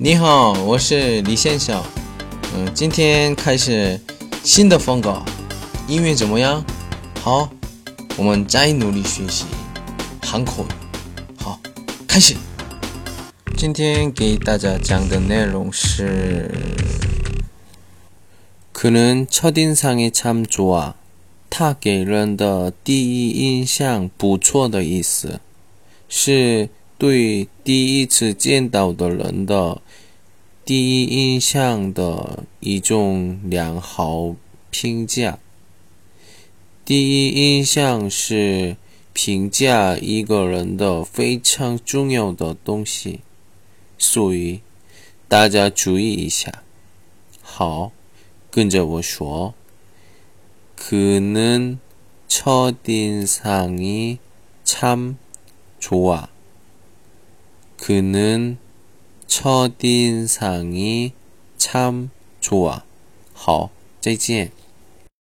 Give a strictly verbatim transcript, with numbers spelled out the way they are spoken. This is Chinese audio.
你好，我是李先生。嗯，今天开始新的风格，音乐怎么样？好，我们再努力学习韩口语。好，开始。今天给大家讲的内容是， 그는 첫인상이 참 좋아. 他给人的第一印象不错的意思，是对第一次见到的人的第一印象的一种良好评价。第一印象是评价一个人的非常重要的东西，所以大家注意一下。好，跟着我说。그는 첫인상이 참 좋아. 그는 첫인상이 참 좋아. 好，再见。